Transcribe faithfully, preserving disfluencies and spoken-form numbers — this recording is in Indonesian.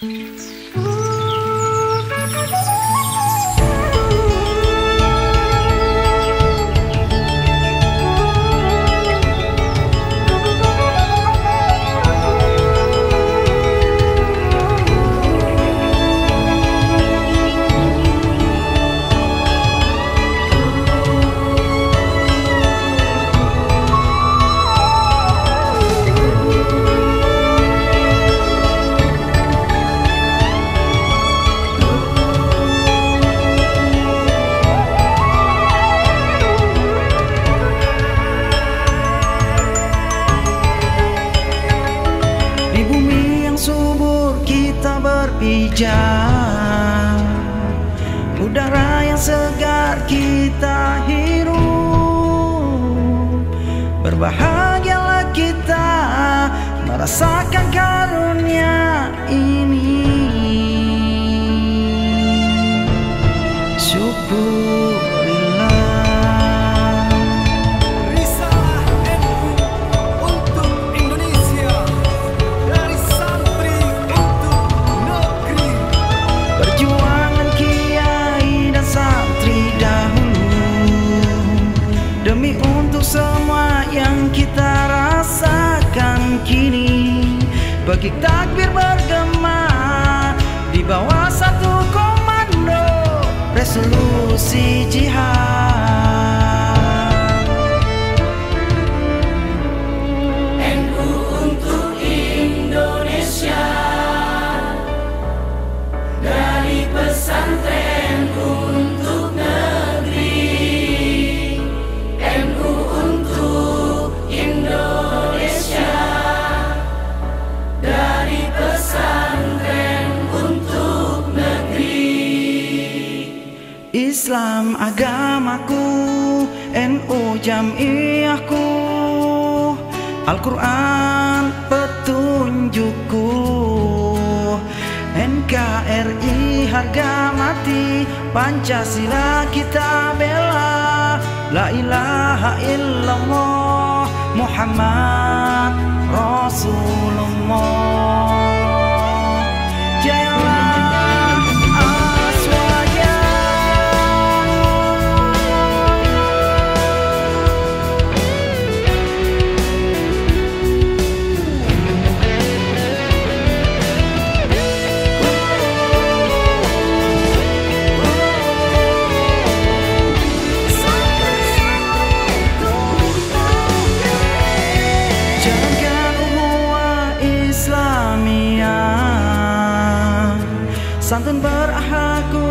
Berpijak, udara yang segar kita hirup. Berbahagialah kita merasakan karunia ini. Syukurillah. Risalah N U untuk Indonesia, dari santri untuk negeri. Perjuangan kiai dan santri dahulu, demi untuk semua yang kita rasakan kini. Bagi takbir bergema di bawah satu komando, resolusi jihad. N U untuk Indonesia, dari pesantren untuk negeri. N U untuk Indonesia, dari pesantren untuk negeri. Islam agamaku, N U jamiyahku, Al-Quran petunjukku, N K R I harga mati, Pancasila kita bela. La ilaha illallah Muhammad Rasulullah. Jayalah Aswaya. Jalankan ukhuwah Islamiyah, santun berakhlak